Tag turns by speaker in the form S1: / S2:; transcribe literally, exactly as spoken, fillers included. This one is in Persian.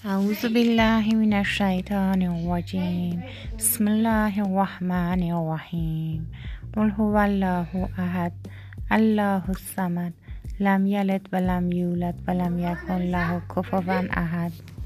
S1: أعوذ بالله من الشيطان الرجيم. بسم الله الرحمن الرحيم. قل هو الله أحد الله الصمد لم يلد ولم يولد ولم يكن له كفوا أحد.